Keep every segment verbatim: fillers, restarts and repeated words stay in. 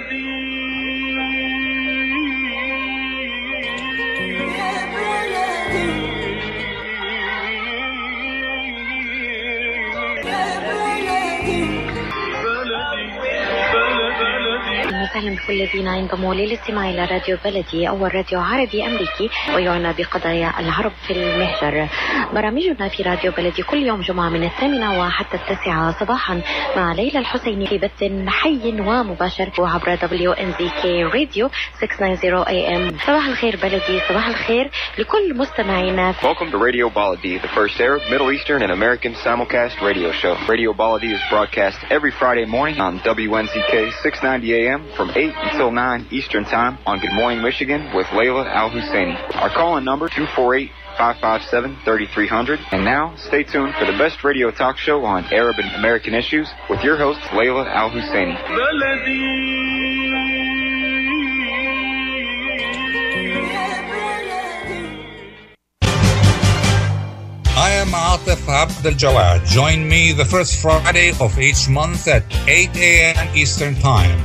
أهلا بكل الذين ينضموا للاستماع إلى راديو بلدي، أول راديو عربي أمريكي ويعنى بقضايا العرب في المهجر. برامجنا في راديو بلدي كل يوم جمعة من الثامنة وحتى التاسعة صباحا مع ليلى الحسيني في بث حي ومباشر وعبر دبليو إن زي كي راديو ستمائة وتسعين إيه إم. صباح الخير بلدي، صباح الخير لكل مستمعينا. Welcome to Radio Baladi, the first Arab, Middle Eastern and American simulcast radio show. Radio Baladi is broadcast every Friday morning on W N Z K six ninety A M from eight until nine Eastern Time on Good Morning Michigan with Layla Al-Husseini. Our call-in number two four eight, five five seven, three three zero zero. And now, stay tuned for the best radio talk show on Arab and American issues with your host, Layla Al-Husseini. I am Atif Abdel Jawad. Join me the first Friday of each month at eight A M Eastern Time.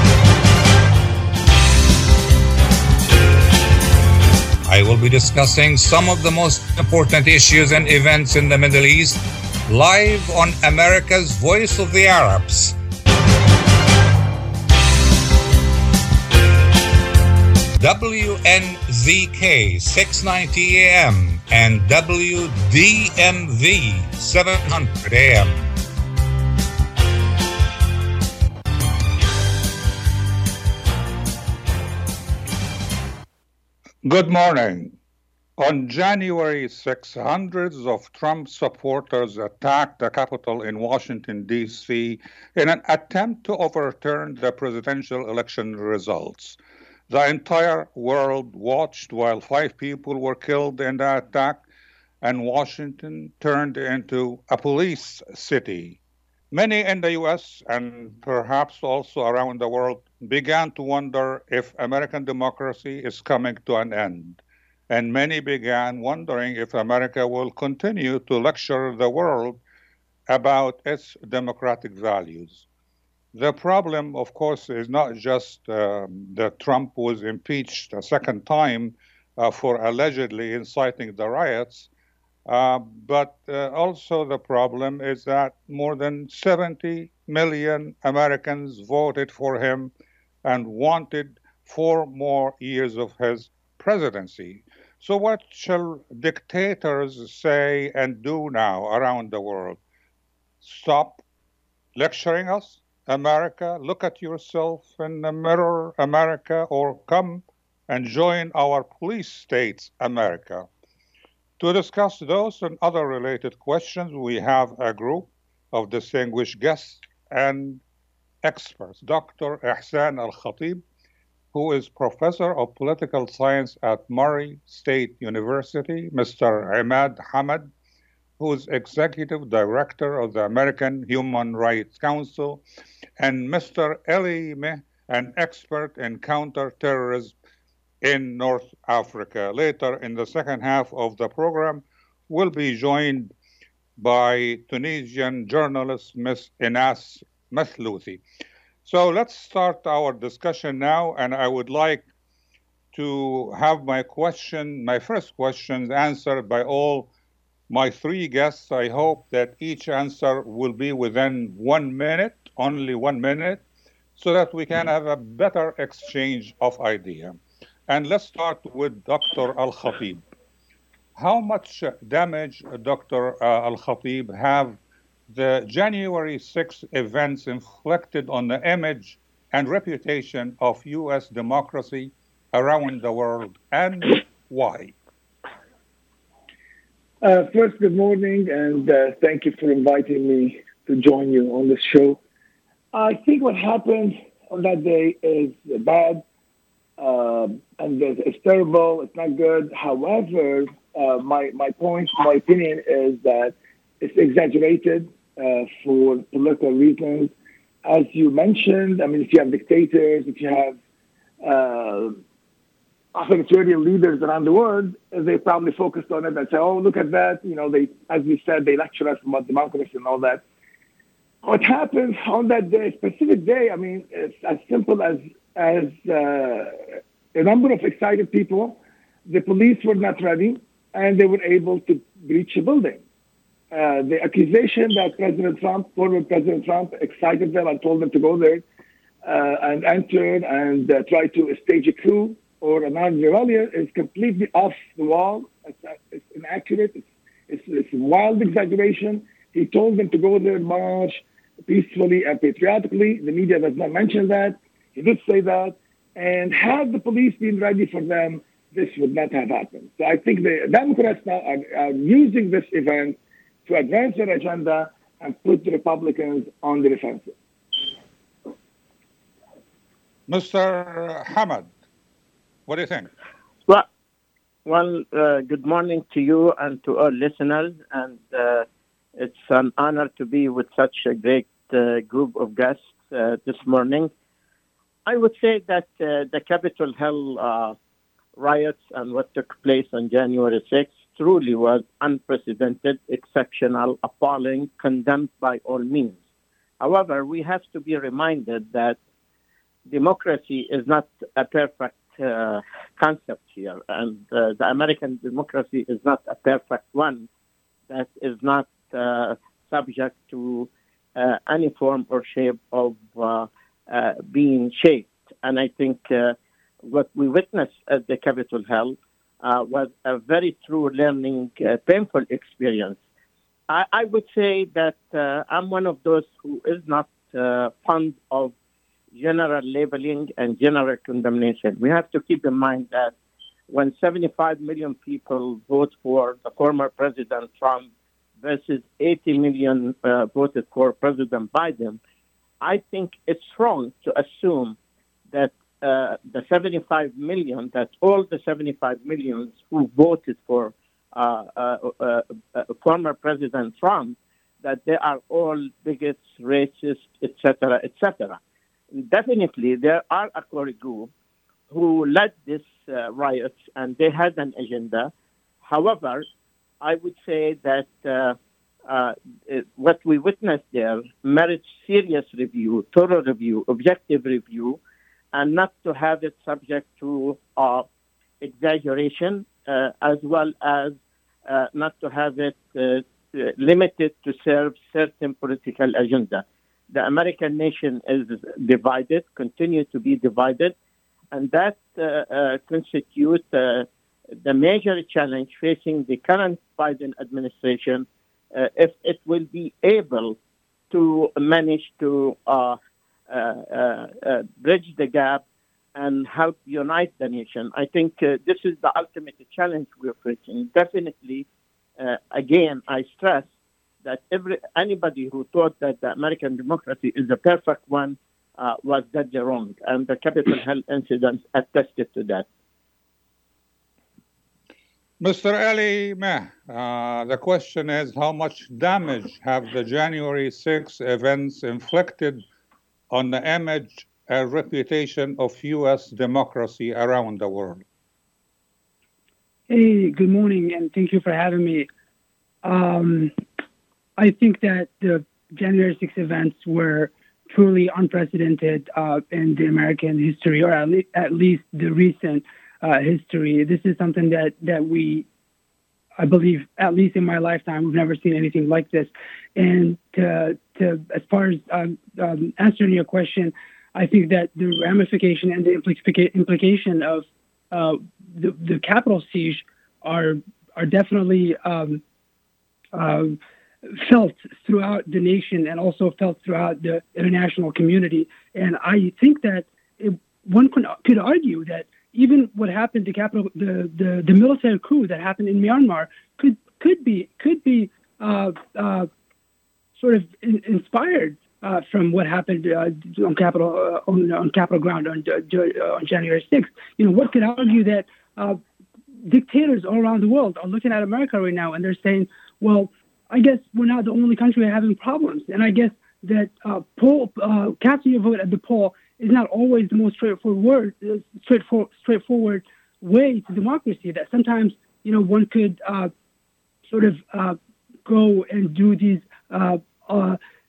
I will be discussing some of the most important issues and events in the Middle East live on America's Voice of the Arabs. W N Z K six ninety A M and W D M V seven hundred A M. Good morning. On January sixth, hundreds of Trump supporters attacked the Capitol in Washington, D C in an attempt to overturn the presidential election results. The entire world watched while five people were killed in the attack, and Washington turned into a police city. Many in the U S and perhaps also around the world began to wonder if American democracy is coming to an end. And many began wondering if America will continue to lecture the world about its democratic values. The problem, of course, is not just um, that Trump was impeached a second time uh, for allegedly inciting the riots, uh, but uh, also the problem is that more than seventy million Americans voted for him and wanted four more years of his presidency. So what shall dictators say and do now around the world? Stop lecturing us? America, look at yourself in the mirror, America, or come and join our police states, America. To discuss those and other related questions, we have a group of distinguished guests and experts. Doctor Ihsan Al-Khatib, who is professor of political science at Murray State University, Mister Imad Hamad, who is executive director of the American Human Rights Council, and Mister Eli Meh, an expert in counterterrorism in North Africa. Later in the second half of the program, we'll be joined by Tunisian journalist Miss Inas Mathlouthi. So let's start our discussion now, and I would like to have my question, my first questions answered by all my three guests. I hope that each answer will be within one minute, only one minute, so that we can have a better exchange of idea. And let's start with Doctor Al-Khatib. How much damage, Doctor Uh, Al-Khatib, have the January sixth events inflicted on the image and reputation of U S democracy around the world, and why? Uh, first, good morning, and uh, thank you for inviting me to join you on this show. I think what happened on that day is bad, uh, and it's terrible. It's not good. However, uh, my my point, my opinion is that it's exaggerated uh, for political reasons. As you mentioned, I mean, if you have dictators, if you have uh, authoritarian leaders around the world, they probably focused on it and say, oh, look at that. You know, they, as we said, they lecture us about democracy and all that. what happened on that day, specific day, I mean, it's as simple as as uh, a number of excited people. The police were not ready, and they were able to breach a building. Uh, the accusation that President Trump, former President Trump, excited them and told them to go there uh, and enter and uh, try to stage a coup or an armed rebellion is completely off the wall. It's, it's inaccurate. It's, it's, it's a wild exaggeration. He told them to go there, march peacefully and patriotically. The media does not mention that. He did say that. And had the police been ready for them, this would not have happened. So I think the Democrats now are, are using this event to advance their agenda and put the Republicans on the defensive. Mister Hamad, what do you think? Well, well uh, good morning to you and to our listeners. And uh, it's an honor to be with such a great uh, group of guests uh, this morning. I would say that uh, the Capitol Hill uh, riots and what took place on January sixth truly was unprecedented, exceptional, appalling, condemned by all means. However, we have to be reminded that democracy is not a perfect uh, concept here, and uh, the American democracy is not a perfect one that is not uh, subject to uh, any form or shape of uh, uh, being shaped. And I think uh, what we witnessed at the Capitol Hill uh, was a very true learning, uh, painful experience. I, I would say that uh, I'm one of those who is not uh, fond of general labeling and general condemnation. We have to keep in mind that when seventy-five million people vote for the former President Trump versus eighty million uh, voted for President Biden, I think it's wrong to assume that uh, the seventy-five million, that all the seventy-five millions who voted for uh, uh, uh, uh, former President Trump, that they are all bigots, racist, et cetera, et cetera. Definitely, there are a core group who led these uh, riots, and they had an agenda. However, I would say that uh, uh, it, what we witnessed there merits serious review, thorough review, objective review, and not to have it subject to uh, exaggeration, uh, as well as uh, not to have it uh, limited to serve certain political agenda. The American nation is divided, continue to be divided, and that uh, uh, constitutes uh, the major challenge facing the current Biden administration uh, if it will be able to manage to uh, uh, uh, uh, bridge the gap and help unite the nation. I think uh, this is the ultimate challenge we're facing. Definitely, uh, again, I stress that every anybody who thought that the American democracy is the perfect one uh, was deadly wrong, and the Capitol Hill incident attested to that. Mister Ali Meh, uh, the question is, how much damage have the January sixth events inflicted on the image and reputation of U S democracy around the world? Hey, good morning, and thank you for having me. Um, I think that the January sixth events were truly unprecedented uh, in the American history, or at, le- at least the recent uh, history. This is something that, that we, I believe, at least in my lifetime, we've never seen anything like this. And to, to, as far as um, um, answering your question, I think that the ramification and the implica- implication of uh, the, the Capitol siege are are definitely um, uh, felt throughout the nation and also felt throughout the international community. And I think that it, one could, could argue that even what happened to Capitol, the, the, the military coup that happened in Myanmar could could be could be uh, uh, sort of in, inspired uh, from what happened uh, on Capitol uh, on, on Capitol ground on, uh, on January sixth. You know, what could argue that uh, dictators all around the world are looking at America right now and they're saying, well, I guess we're not the only country having problems. And I guess that uh, poll, uh, casting your vote at the poll is not always the most straightforward, uh, straightforward, straightforward way to democracy. That sometimes, you know, one could uh, sort of uh, go and do these uh, uh,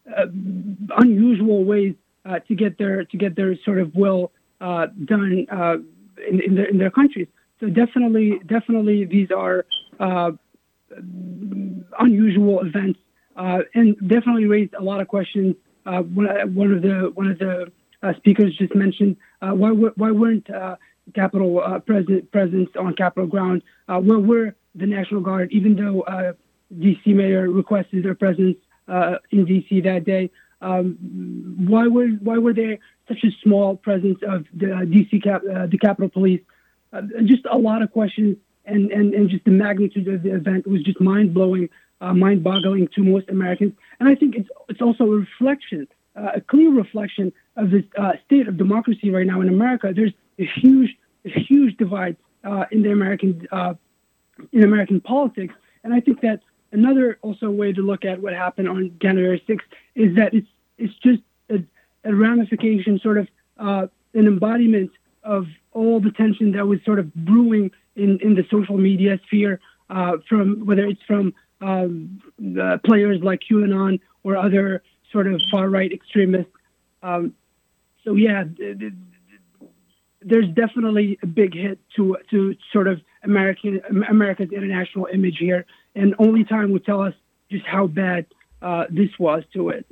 uh, unusual ways uh, to get their to get their sort of will uh, done uh, in, in their in their countries. So definitely, definitely, these are uh, unusual events, uh, and definitely raised a lot of questions. Uh, one, one of the one of the uh, speakers just mentioned uh, why why weren't uh, Capitol uh, president presence on Capitol ground? Uh, where were the National Guard, even though uh, D C mayor requested their presence uh, in D C that day? Um, why were why were there such a small presence of the uh, D C cap, uh, the Capitol Police? Uh, just a lot of questions, and, and, and just the magnitude of the event was just mind-blowing, uh, mind-boggling to most Americans. And I think it's it's also a reflection, uh, a clear reflection of the uh, state of democracy right now in America. There's a huge, a huge divide uh, in the American uh, in American politics, and I think that another also way to look at what happened on January sixth is that it's it's just a, a ramification, sort of uh, an embodiment of all the tension that was sort of brewing in, in the social media sphere, uh, from whether it's from um, the players like QAnon or other sort of far-right extremists. Um, so yeah, th- th- there's definitely a big hit to to sort of American America's international image here, and only time will tell us just how bad uh, this was to it.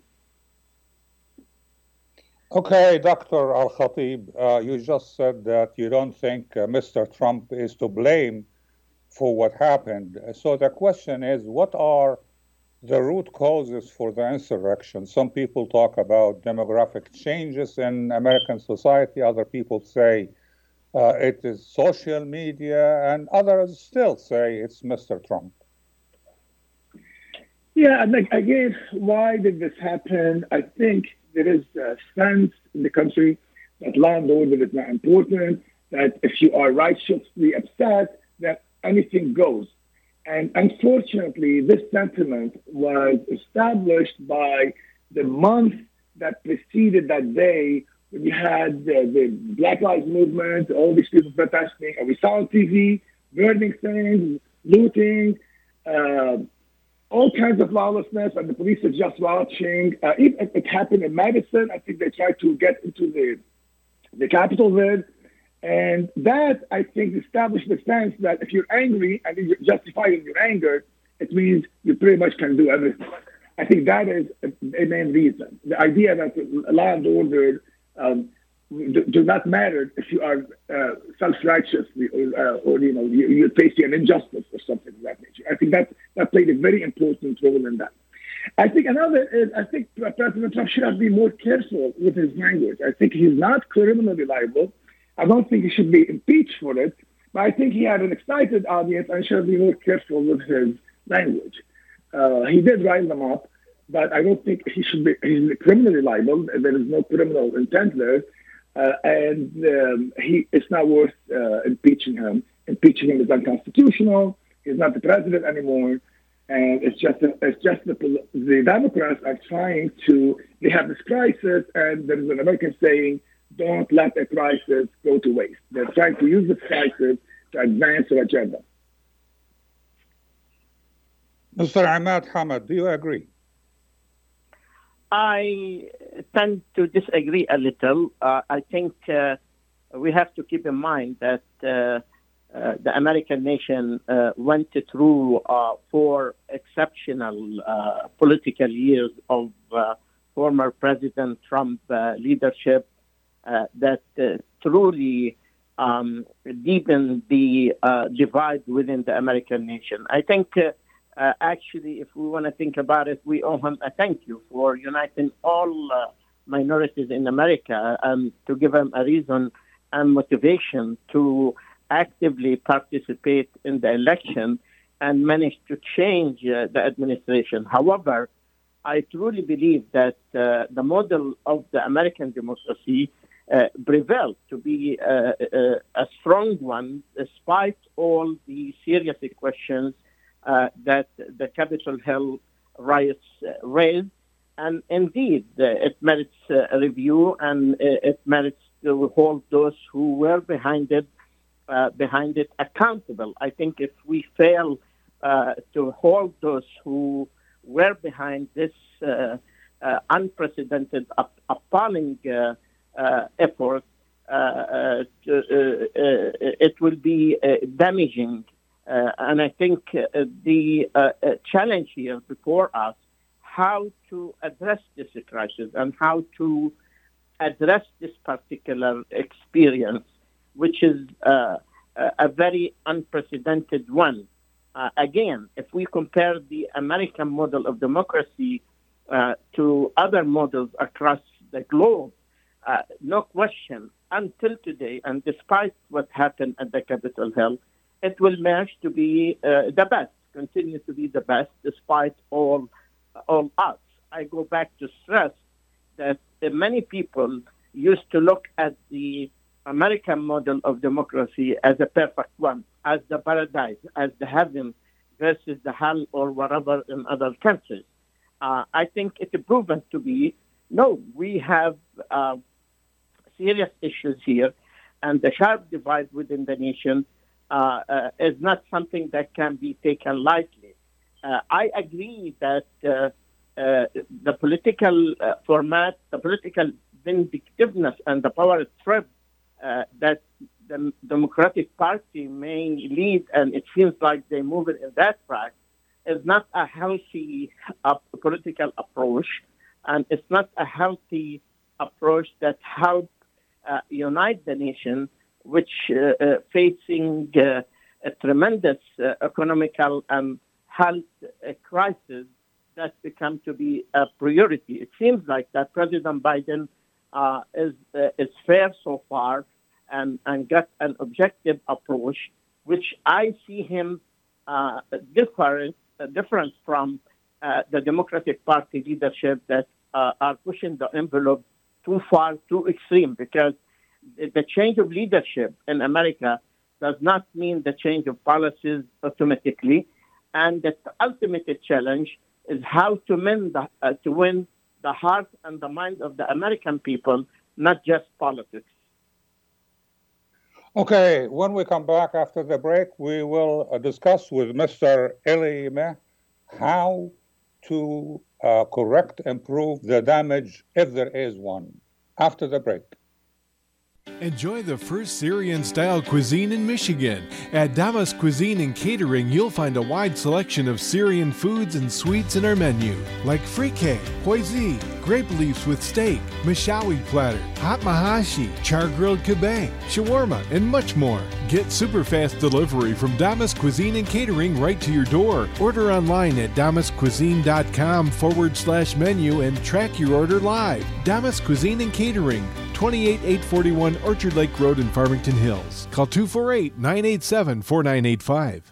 Okay, Doctor Al-Khatib, uh, you just said that you don't think uh, Mister Trump is to blame for what happened. So the question is, what are the root causes for the insurrection? Some people talk about demographic changes in American society. Other people say uh, it is social media, and others still say it's Mister Trump. Yeah, and like, again, why did this happen? I think there is a sense in the country that law and order is not important, that if you are righteously upset, that anything goes. And unfortunately, this sentiment was established by the month that preceded that day when you had the, the Black Lives Movement, all these people protesting, and we saw on T V, burning things, looting, uh, all kinds of lawlessness, and the police are just watching. Uh, it, it happened in Madison. I think they tried to get into the the Capitol there. And that, I think, established the sense that if you're angry and you're justified in your anger, it means you pretty much can do everything. I think that is a, a main reason. The idea that law and order um, do, do not matter if you are uh, self-righteous or, uh, or you know, you, you're facing an injustice or something of that nature. I think that, that played a very important role in that. I think another is, I think President Trump should have been more careful with his language. I think he's not criminally liable. I don't think he should be impeached for it, but I think he had an excited audience and should be more careful with his language. Uh, he did rile them up, but I don't think he should be, he's criminally liable. There is no criminal intent there. Uh, and um, he it's not worth uh, impeaching him. Impeaching him is unconstitutional. He's not the president anymore. And it's just a, it's just the, the Democrats are trying to, they have this crisis, and there is an American saying, don't let a crisis go to waste. They're trying to use this crisis to advance their agenda. Mister Ahmad Hamad, do you agree? I tend to disagree a little. Uh, I think uh, we have to keep in mind that uh, uh, the American nation uh, went through uh, four exceptional uh, political years of uh, former President Trump uh, leadership uh, that uh, truly um, deepened the uh, divide within the American nation. I think uh, Uh, actually, if we want to think about it, we owe him a thank you for uniting all uh, minorities in America and to give them a reason and motivation to actively participate in the election and manage to change uh, the administration. However, I truly believe that uh, the model of the American democracy uh, prevailed to be uh, uh, a strong one, despite all the serious questions Uh, that the Capitol Hill riots uh, raised. And indeed, uh, it merits uh, a review, and uh, it merits to hold those who were behind it, uh, behind it accountable. I think if we fail uh, to hold those who were behind this uh, uh, unprecedented, up, appalling uh, uh, effort, uh, uh, to, uh, uh, it will be uh, damaging. Uh, and I think uh, the uh, uh, challenge here before us, how to address this crisis and how to address this particular experience, which is uh, a very unprecedented one. Uh, again, if we compare the American model of democracy uh, to other models across the globe, uh, no question, until today, and despite what happened at the Capitol Hill, it will manage to be uh, the best, continue to be the best, despite all, all odds. I go back to stress that uh, many people used to look at the American model of democracy as a perfect one, as the paradise, as the heaven versus the hell or whatever in other countries. Uh, I think it's proven to be, no, we have uh, serious issues here, and the sharp divide within the nation uh, uh, is not something that can be taken lightly. Uh, I agree that uh, uh, the political uh, format, the political vindictiveness and the power trip Uh, that the Democratic Party may lead, and it seems like they move it in that track, is not a healthy uh, political approach, and it's not a healthy approach that help uh, unite the nation, which uh, uh, facing uh, a tremendous uh, economical and health uh, crisis that become to be a priority. It seems like that President Biden uh, is uh, is fair so far, and, and got an objective approach, which I see him uh, different, uh, different from uh, the Democratic Party leadership that uh, are pushing the envelope too far, too extreme, because the change of leadership in America does not mean the change of policies automatically, and the ultimate challenge is how to win the, uh, to win the heart and the mind of the American people, not just politics. Okay, when we come back after the break, we will uh, discuss with Mister Eli Meh how to uh, correct, improve the damage, if there is one, after the break. Enjoy the first Syrian-style cuisine in Michigan. At Damas Cuisine and Catering, you'll find a wide selection of Syrian foods and sweets in our menu, like frikeh, hoizi, grape leaves with steak, mashawi platter, hot mahashi, char-grilled kebab, shawarma, and much more. Get super-fast delivery from Damas Cuisine and Catering right to your door. Order online at damascuisine.com forward slash menu and track your order live. Damas Cuisine and Catering, twenty-eight eight forty-one Orchard Lake Road in Farmington Hills. Call two four eight, nine eight seven, four nine eight five.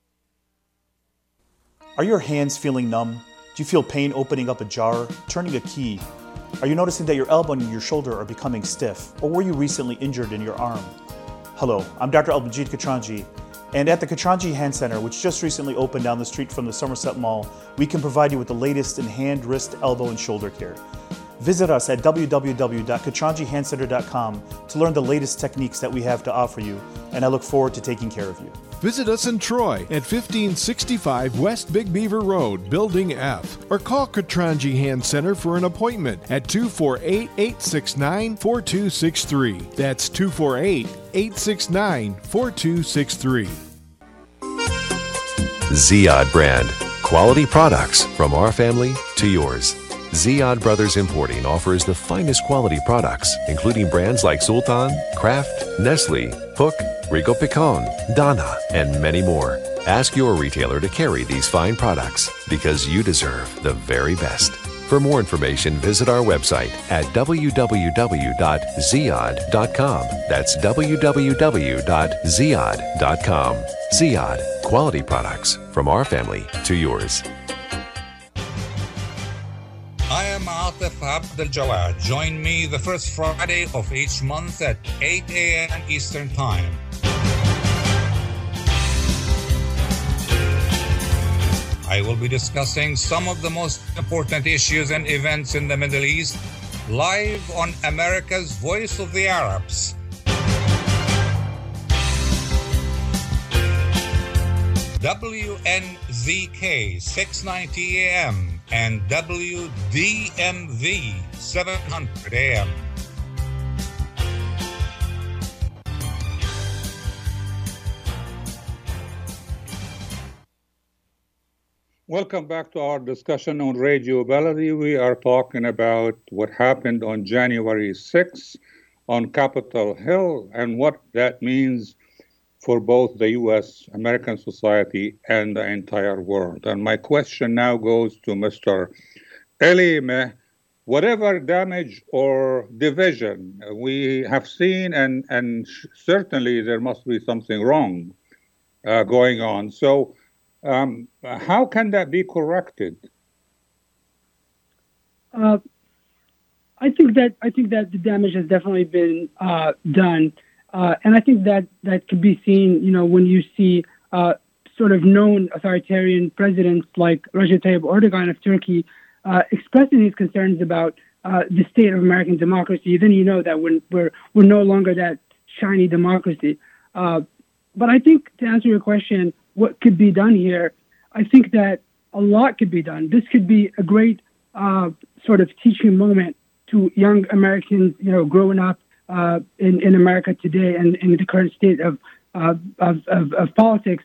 Are your hands feeling numb? Do you feel pain opening up a jar, turning a key? Are you noticing that your elbow and your shoulder are becoming stiff? Or were you recently injured in your arm? Hello, I'm Doctor Al-Majid Katranji, and at the Katranji Hand Center, which just recently opened down the street from the Somerset Mall, we can provide you with the latest in hand, wrist, elbow, and shoulder care. Visit us at w w w dot katranji hand center dot com to learn the latest techniques that we have to offer you, and I look forward to taking care of you. Visit us in Troy at fifteen sixty-five West Big Beaver Road, Building F, or call Katranji Hand Center for an appointment at two four eight, eight six nine, four two six three. That's two four eight, eight six nine, four two six three. Ziyad brand. Quality products from our family to yours. Ziyad Brothers Importing offers the finest quality products, including brands like Sultan, Kraft, Nestle, Hook, Rico Picon, Donna, and many more. Ask your retailer to carry these fine products because you deserve the very best. For more information, visit our website at w w w dot ziyad dot com. That's w w w dot ziyad dot com. Ziyad, quality products from our family to yours. I am Atif Abdel Jawad. Join me the first Friday of each month at eight a.m. Eastern Time. I will be discussing some of the most important issues and events in the Middle East live on America's Voice of the Arabs. W N Z K six ninety A M and W D M V seven hundred A M. Welcome back to our discussion on Radio Baladi. We are talking about what happened on January sixth on Capitol Hill and what that means for both the U S, American society, and the entire world. And my question now goes to Mister Elie Meh. Whatever damage or division we have seen, and, and certainly there must be something wrong uh, going on. So Um, how can that be corrected? Uh, I think that I think that the damage has definitely been uh, done, uh, and I think that that could be seen. You know, when you see uh, sort of known authoritarian presidents like Recep Tayyip Erdogan of Turkey uh, expressing his concerns about uh, the state of American democracy, then you know that we're we're, we're no longer that shiny democracy. Uh, but I think to answer your question, what could be done here? I think that a lot could be done. This could be a great uh, sort of teaching moment to young Americans, you know, growing up uh, in, in America today and in the current state of, uh, of, of, of politics,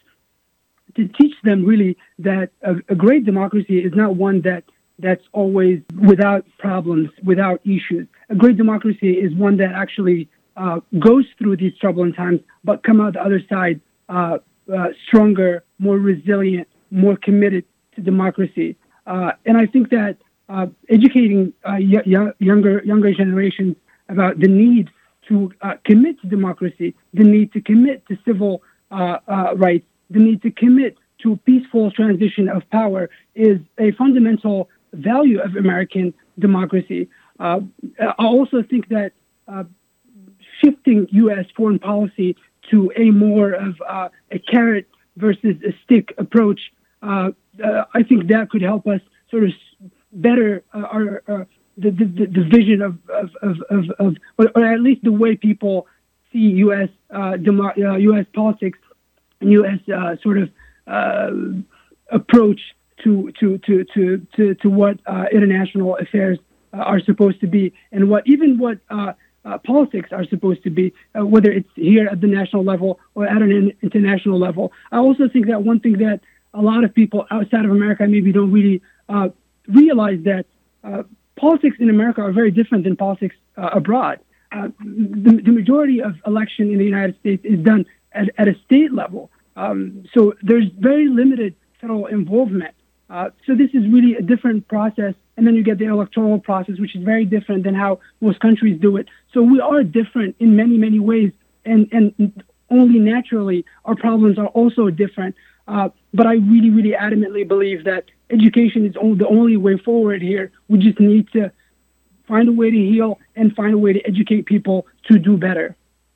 to teach them really that a, a great democracy is not one that that's always without problems, without issues. A great democracy is one that actually uh, goes through these troubling times, but come out the other side uh, Uh, stronger, more resilient, more committed to democracy. Uh, and I think that uh, educating uh, y- y- younger younger generations about the need to uh, commit to democracy, the need to commit to civil uh, uh, rights, the need to commit to a peaceful transition of power is a fundamental value of American democracy. Uh, I also think that uh, shifting U S foreign policy to a more of uh, a carrot versus a stick approach, uh, uh, I think that could help us sort of better uh, our uh, the, the the vision of of of, of, of or at least the way people see U S uh, demo- uh, U S politics and U S uh, sort of uh, approach to to to to to, to what uh, international affairs uh, are supposed to be, and what even what. Uh, Uh, politics are supposed to be, uh, whether it's here at the national level or at an international level. I also think that one thing that a lot of people outside of America maybe don't really uh, realize that uh, politics in America are very different than politics uh, abroad. Uh, the, the majority of election in the United States is done at, at a state level. Um, so there's very limited federal involvement. Uh, so this is really a different process. And then you get the electoral process, which is very different than how most countries do it. So we are different in many, many ways. And, and only naturally, our problems are also different. Uh, but I really, really adamantly believe that education is only, the only way forward here. We just need to find a way to heal and find a way to educate people to do better.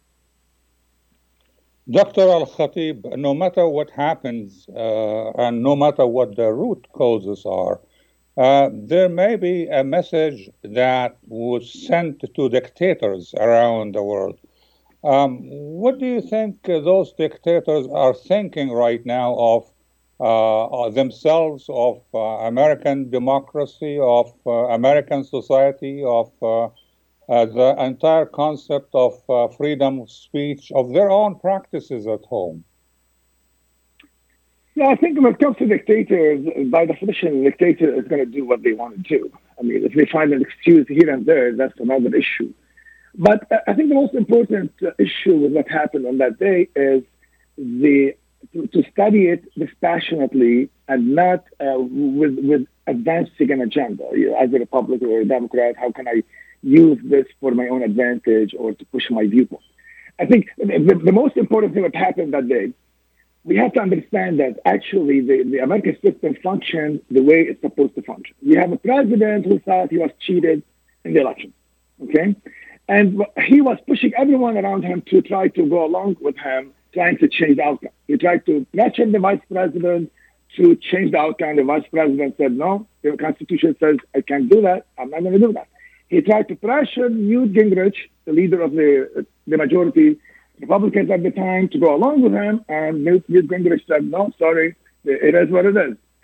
Doctor Al-Khatib, no matter what happens uh, and no matter what the root causes are, Uh, there may be a message that was sent to dictators around the world. Um, what do you think those dictators are thinking right now of uh, themselves, of uh, American democracy, of uh, American society, of uh, uh, the entire concept of uh, freedom of speech, of their own practices at home? Yeah, I think when it comes to dictators, by definition, a dictator is going to do what they want to do. I mean, if they find an excuse here and there, that's another issue. But I think the most important issue with what happened on that day is the to, to study it dispassionately and not uh, with with advancing an agenda. You know, as a Republican or a Democrat, how can I use this for my own advantage or to push my viewpoint? I think the, the most important thing that happened that day, we have to understand that actually the, the American system functions the way it's supposed to function. You have a president who thought he was cheated in the election, okay? And he was pushing everyone around him to try to go along with him, trying to change the outcome. He tried to pressure the vice president to change the outcome. The vice president said, no, the Constitution says I can't do that. I'm not going to do that. He tried to pressure Newt Gingrich, the leader of the, the majority Republicans at the time, to go along with him, and Newt Gingrich said, no, sorry, it is what it is.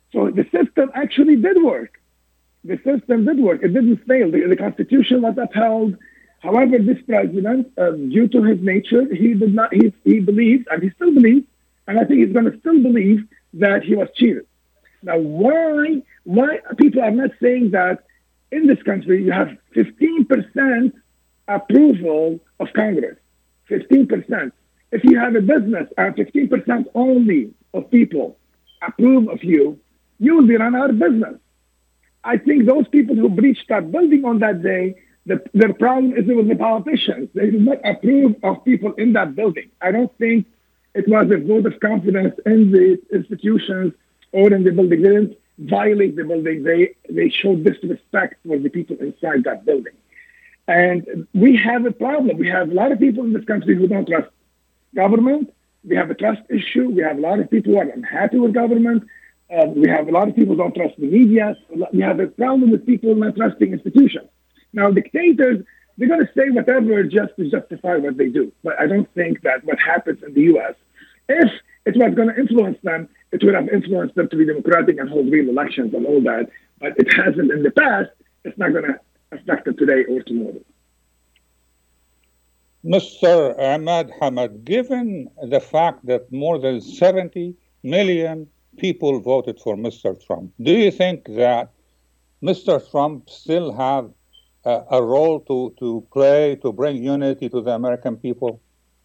So the system actually did work. The system did work. It didn't fail. The, the Constitution was upheld. However, this president, uh, due to his nature, he did not. He, he believed, and he still believes, and I think he's going to still believe that he was cheated. Now, why? Why people are not saying that in this country you have fifteen percent approval of Congress? fifteen percent. If you have a business and fifteen percent only of people approve of you, you will be run out of business. I think those people who breached that building on that day, the, their problem is with the politicians. They did not approve of people in that building. I don't think it was a vote of confidence in the institutions or in the building. They didn't violate the building. They, they showed disrespect for the people inside that building. And we have a problem. We have a lot of people in this country who don't trust government. We have a trust issue. We have a lot of people who are unhappy with government. Uh, we have a lot of people who don't trust the media. We have a problem with people not trusting institutions. Now, dictators, they're going to say whatever just to justify what they do. But I don't think that what happens in the U S, if it was going to influence them, it would have influenced them to be democratic and hold real elections and all that. But it hasn't in the past. It's not going to affect them today or tomorrow. Mister Ahmad Hamad, given the fact that more than seventy million people voted for Mister Trump, do you think that Mister Trump still have a, a role to, to play to bring unity to the American people?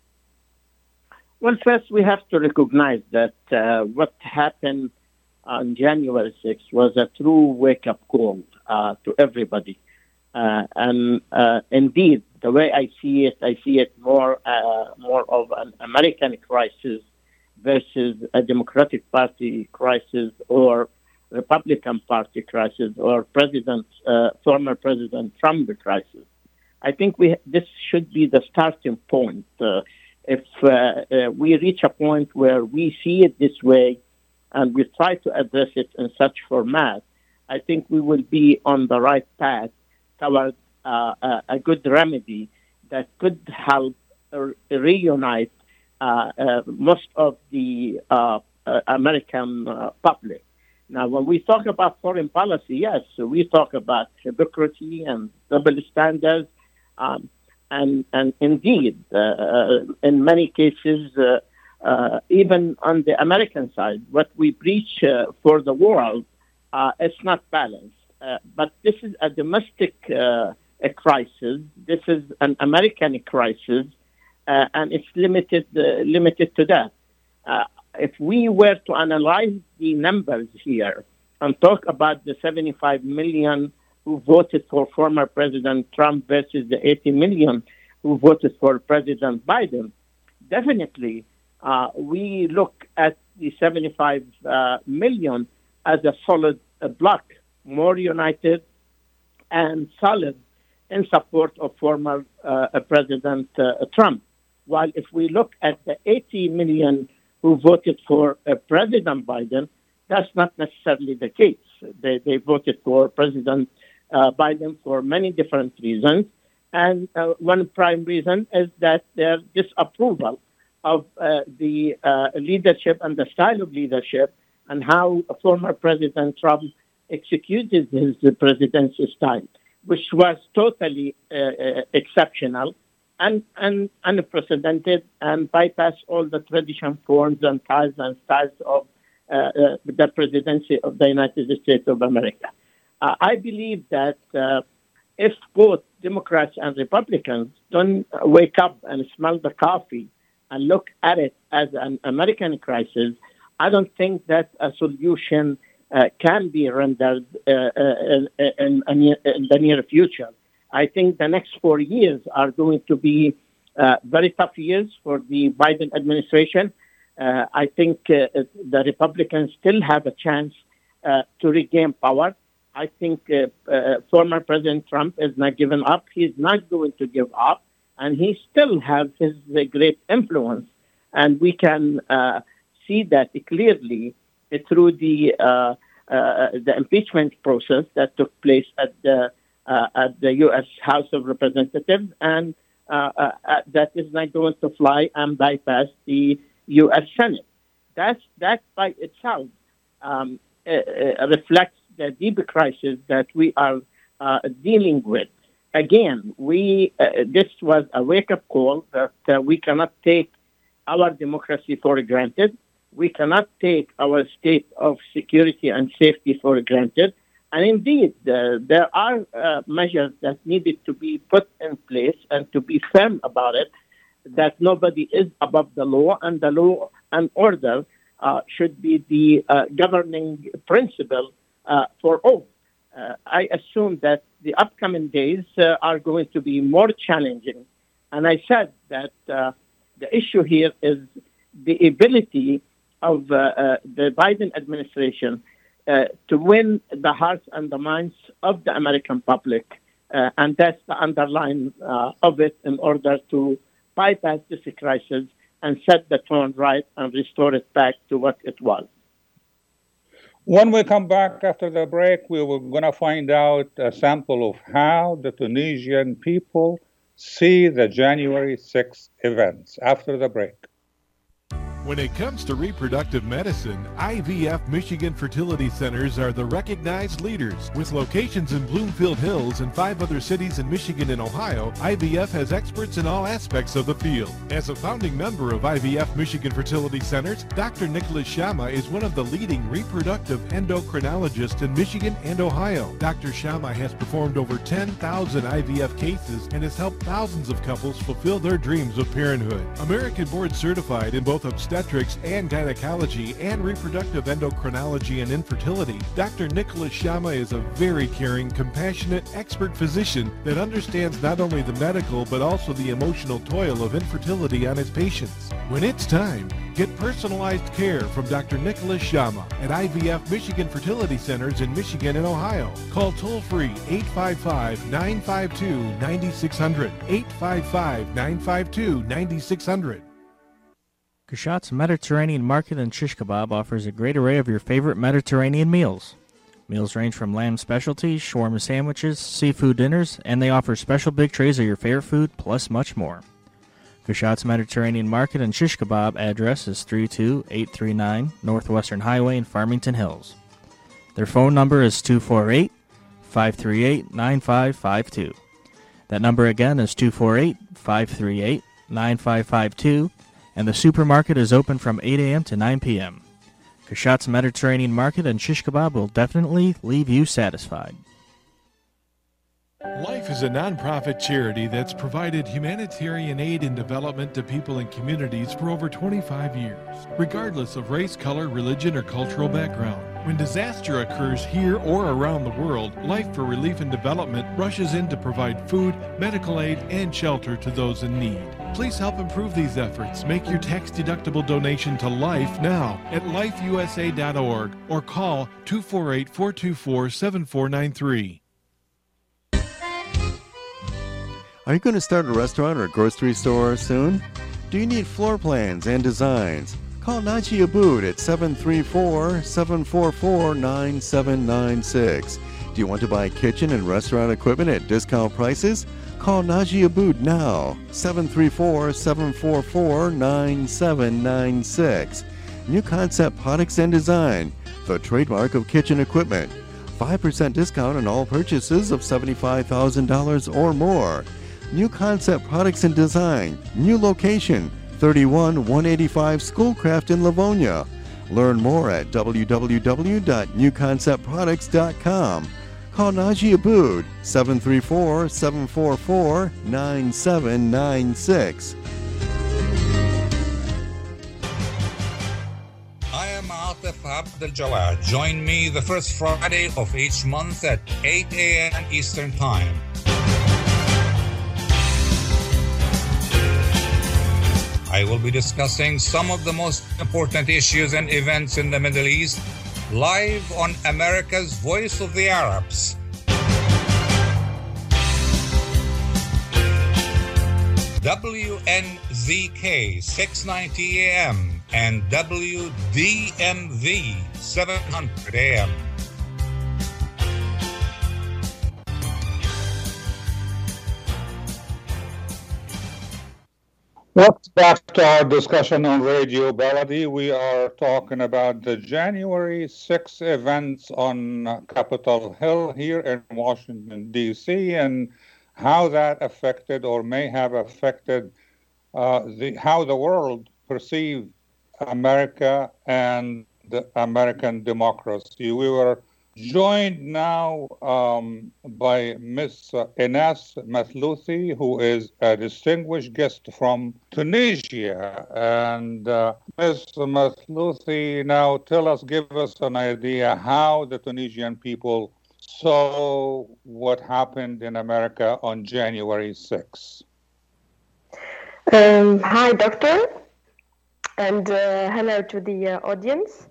Well, first we have to recognize that uh, what happened on January sixth was a true wake-up call uh, to everybody. Uh, and uh, indeed, the way I see it, I see it more uh, more of an American crisis versus a Democratic Party crisis or Republican Party crisis or President, uh, former President Trump crisis. I think we this should be the starting point. Uh, if uh, uh, we reach a point where we see it this way and we try to address it in such format, I think we will be on the right path toward uh, a, a good remedy that could help uh, reunite uh, uh, most of the uh, uh, American uh, public. Now, when we talk about foreign policy, yes, so we talk about hypocrisy and double standards. Um, and, and indeed, uh, uh, in many cases, uh, uh, even on the American side, what we preach uh, for the world, uh, it's not balanced. Uh, but this is a domestic uh, a crisis. This is an American crisis, uh, and it's limited uh, limited to that. Uh, if we were to analyze the numbers here and talk about the seventy-five million who voted for former President Trump versus the eighty million who voted for President Biden, definitely uh, we look at the seventy-five uh, million as a solid uh, block, more united and solid in support of former uh, President uh, Trump. While if we look at the eighty million who voted for uh, President Biden, that's not necessarily the case. They, they voted for President uh, Biden for many different reasons. And uh, one prime reason is that their disapproval of uh, the uh, leadership and the style of leadership and how former President Trump executed his presidency style, which was totally uh, uh, exceptional and, and unprecedented and bypassed all the tradition forms and ties and styles of uh, uh, the presidency of the United States of America. Uh, I believe that uh, if both Democrats and Republicans don't wake up and smell the coffee and look at it as an American crisis, I don't think that a solution uh, can be rendered uh, in, in, in the near future. I think the next four years are going to be uh, very tough years for the Biden administration. Uh, I think uh, the Republicans still have a chance uh, to regain power. I think uh, uh, former President Trump is not giving up. He's not going to give up, and he still has his uh, great influence. And we can uh, see that clearly uh, through the uh, uh, the impeachment process that took place at the uh, at the U S House of Representatives, and uh, uh, uh, that is not going to fly and bypass the U S Senate. That's that by itself. Um, uh, reflects the deep crisis that we are uh, dealing with. Again, we uh, this was a wake-up call that uh, we cannot take our democracy for granted. We cannot take our state of security and safety for granted. And indeed, uh, there are uh, measures that needed to be put in place and to be firm about it, that nobody is above the law, and the law and order uh, should be the uh, governing principle uh, for all. Uh, I assume that the upcoming days uh, are going to be more challenging. And I said that uh, the issue here is the ability of uh, uh, the Biden administration uh, to win the hearts and the minds of the American public. Uh, and that's the underline uh, of it in order to bypass this crisis and set the tone right and restore it back to what it was. When we come back after the break, we were going to find out a sample of how the Tunisian people see the January sixth events. After the break. When it comes to reproductive medicine, I V F Michigan Fertility Centers are the recognized leaders. With locations in Bloomfield Hills and five other cities in Michigan and Ohio, I V F has experts in all aspects of the field. As a founding member of I V F Michigan Fertility Centers, Doctor Nicholas Shama is one of the leading reproductive endocrinologists in Michigan and Ohio. Doctor Shama has performed over ten thousand I V F cases and has helped thousands of couples fulfill their dreams of parenthood. American board certified in both obstetrics and gynecology and reproductive endocrinology and infertility, Doctor Nicholas Shama is a very caring, compassionate, expert physician that understands not only the medical but also the emotional toil of infertility on his patients. When it's time, get personalized care from Doctor Nicholas Shama at I V F Michigan Fertility Centers in Michigan and Ohio. Call toll-free eight five five, nine five two, nine six zero zero, eight five five, nine five two, nine six zero zero. Kashat's Mediterranean Market and Shish Kebab offers a great array of your favorite Mediterranean meals. Meals range from lamb specialties, shawarma sandwiches, seafood dinners, and they offer special big trays of your favorite food, plus much more. Kashat's Mediterranean Market and Shish Kebab address is three two eight three nine Northwestern Highway in Farmington Hills. Their phone number is two four eight, five three eight, nine five five two. That number again is two four eight, five three eight, nine five five two. And the supermarket is open from eight a.m. to nine p.m. Kashat's Mediterranean Market and Shish Kebab will definitely leave you satisfied. Life is a nonprofit charity that's provided humanitarian aid and development to people and communities for over twenty-five years, regardless of race, color, religion, or cultural background. When disaster occurs here or around the world, Life for Relief and Development rushes in to provide food, medical aid, and shelter to those in need. Please help improve these efforts. Make your tax-deductible donation to Life now at life u s a dot org or call two four eight, four two four, seven four nine three. Are you going to start a restaurant or a grocery store soon? Do you need floor plans and designs? Call Naji Abood at seven three four, seven four four, nine seven nine six. Do you want to buy kitchen and restaurant equipment at discount prices? Call Naji Abood now, seven three four, seven four four, nine seven nine six. New Concept Products and Design, the trademark of kitchen equipment. five percent discount on all purchases of seventy-five thousand dollars or more. New Concept Products and Design, new location, thirty-one one eighty-five Schoolcraft in Livonia. Learn more at w w w dot new concept products dot com. Call Naji Abood, seven three four, seven four four, nine seven nine six. I am Atif Abdel Jawad. Join me the first Friday of each month at eight a.m. Eastern Time. I will be discussing some of the most important issues and events in the Middle East live on America's Voice of the Arabs. W N Z K six ninety A M and W D M V seven hundred A M. Welcome back to our discussion on Radio Baladi. We are talking about the January sixth events on Capitol Hill here in Washington, D C, and how that affected or may have affected uh, the how the world perceived America and the American democracy. We were joined now um, by Miss Ines Mathlouthi, who is a distinguished guest from Tunisia. And uh, Miss Mathlouthi, now tell us, give us an idea how the Tunisian people saw what happened in America on January sixth. Um, hi, Doctor, and uh, hello to the uh, audience.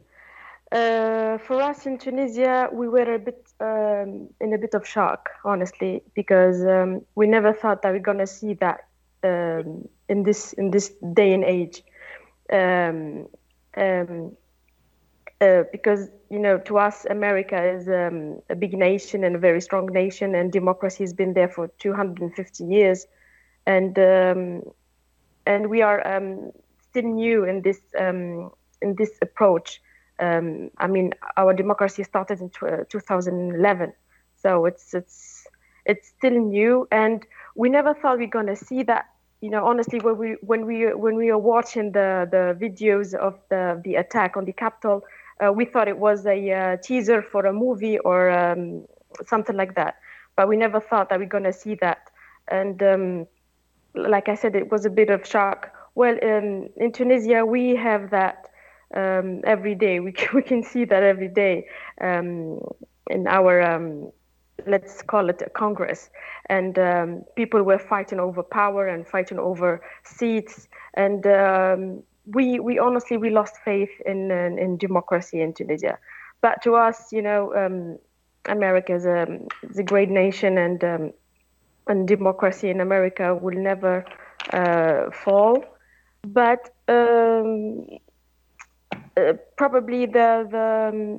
Uh, for us in Tunisia, we were a bit um, in a bit of shock, honestly, because um, we never thought that we're gonna see that um, in this in this day and age. Um, um, uh, because you know, to us, America is um, a big nation and a very strong nation, and democracy has been there for two hundred fifty years, and um, and we are um, still new in this um, in this approach. Um, I mean, our democracy started in two thousand eleven, so it's it's it's still new, and we never thought we're gonna see that. You know, honestly, when we when we when we were watching the the videos of the the attack on the Capitol, uh, we thought it was a uh, teaser for a movie or um, something like that. But we never thought that we're gonna see that, and um, like I said, it was a bit of shock. Well, um, in Tunisia, we have that. Um, every day we can, we can see that every day um, in our um, let's call it a Congress, and um, people were fighting over power and fighting over seats, and um, we we honestly we lost faith in, in in democracy in Tunisia. But to us, you know, um, America is a, is a great nation, and um, and democracy in America will never uh, fall. But um, Uh, probably the, the um,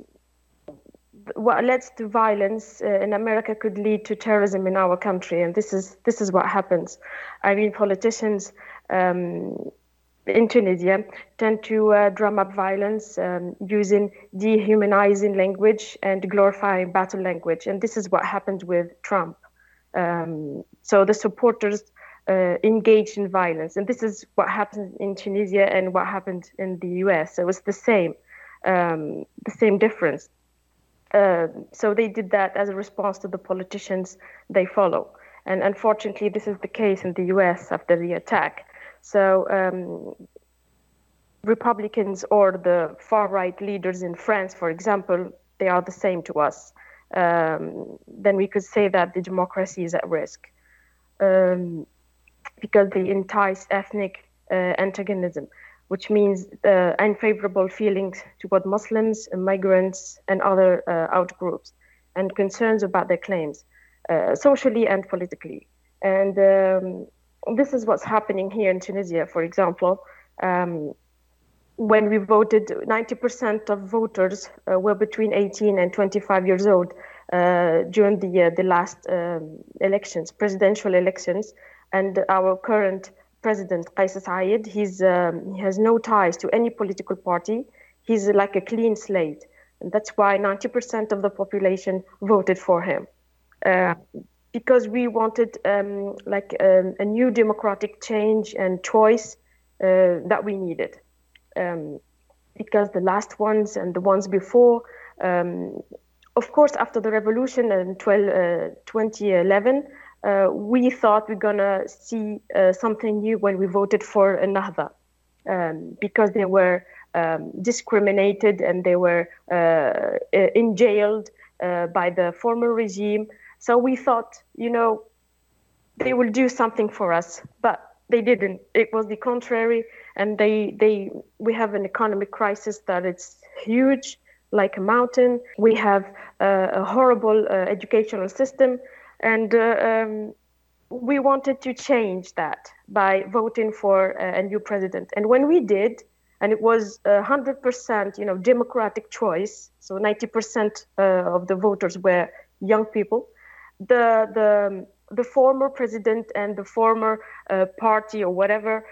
what leads to violence uh, in America could lead to terrorism in our country, and this is this is what happens. I mean, politicians um, in Tunisia tend to uh, drum up violence um, using dehumanizing language and glorifying battle language, and this is what happened with Trump. Um, so the supporters Uh, engaged in violence, and this is what happened in Tunisia and what happened in the U S. So it was the same, um, the same difference. Uh, so they did that as a response to the politicians they follow, and unfortunately, this is the case in the U S after the attack. So um, Republicans or the far-right leaders in France, for example, they are the same to us. Um, then we could say that the democracy is at risk. Um, because they entice ethnic uh, antagonism, which means uh, unfavorable feelings toward Muslims, migrants, and other uh, outgroups, and concerns about their claims, uh, socially and politically. And um, this is what's happening here in Tunisia, for example. Um, when we voted, ninety percent of voters uh, were between eighteen and twenty-five years old uh, during the, uh, the last um, elections, presidential elections. And our current president, Kais Saied, he's, um, he has no ties to any political party. He's like a clean slate. And that's why ninety percent of the population voted for him. Uh, because we wanted um, like um, a new democratic change and choice uh, that we needed. Um, because the last ones and the ones before, um, of course, after the revolution in twenty eleven, Uh, we thought we're gonna see uh, something new when we voted for Ennahda, um, because they were um, discriminated and they were uh, in jailed uh, by the former regime. So we thought, you know, they will do something for us, but they didn't. It was the contrary, and they they we have an economic crisis that it's huge, like a mountain. We have uh, a horrible uh, educational system. And uh, um, we wanted to change that by voting for a, a new president. And when we did, and it was a hundred percent, you know, democratic choice. So ninety percent uh, of the voters were young people. The the the former president and the former uh, party or whatever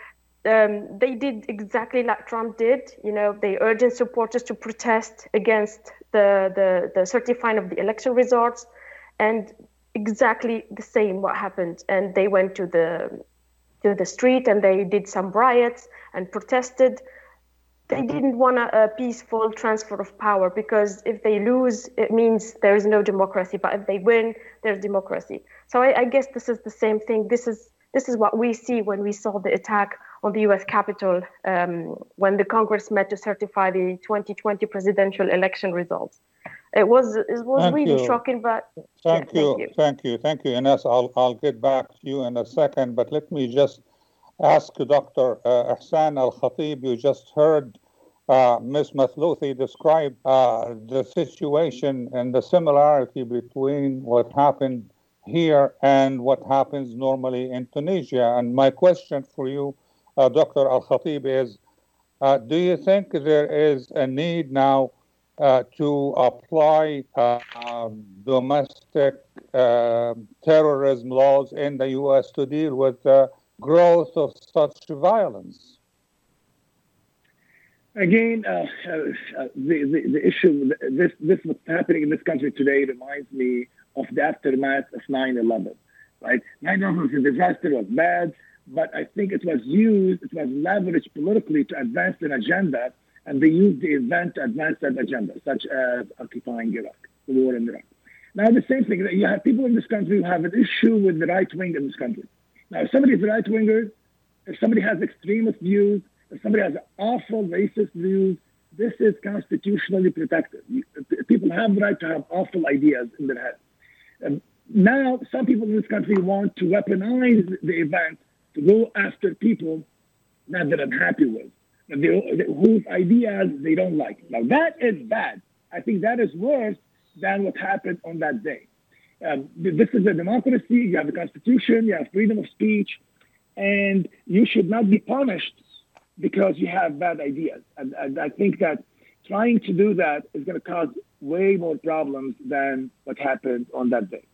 um, they did exactly like Trump did. You know, they urged supporters to protest against the, the, the certifying of the election results, and exactly the same what happened. And they went to the to the street and they did some riots and protested. They didn't want a, a peaceful transfer of power, because if they lose, it means there is no democracy. But if they win, there's democracy. So I, I guess this is the same thing. This is this is what we see when we saw the attack on the U S Capitol um, when the Congress met to certify the twenty twenty presidential election results. It was it was Thank really you. shocking, but Thank, yeah, you. thank you, thank you, thank you, Ines. I'll I'll get back to you in a second, but let me just ask Doctor Uh, Ihsan Al-Khatib. You just heard uh, Miz Mathlouthi describe uh, the situation and the similarity between what happened here and what happens normally in Tunisia. And my question for you, uh, Doctor Al-Khatib, is: uh, do you think there is a need now Uh, to apply uh, um, domestic uh, terrorism laws in the U S to deal with the growth of such violence? Again, uh, uh, the, the the issue, this this what's happening in this country today reminds me of the aftermath of nine eleven, right? nine eleven was a disaster, was bad, but I think it was used, it was leveraged politically to advance an agenda. And they used the event to advance that agenda, such as occupying Iraq, the war in Iraq. Now, the same thing, you have people in this country who have an issue with the right wing in this country. Now, if somebody is a right winger, if somebody has extremist views, if somebody has awful racist views, this is constitutionally protected. People have the right to have awful ideas in their head. And now, some people in this country want to weaponize the event to go after people that they're unhappy with. They, whose ideas they don't like. Now, that is bad. I think that is worse than what happened on that day. Um, this is a democracy. You have a constitution. You have freedom of speech. And you should not be punished because you have bad ideas. And, and I think that trying to do that is going to cause way more problems than what happened on that day.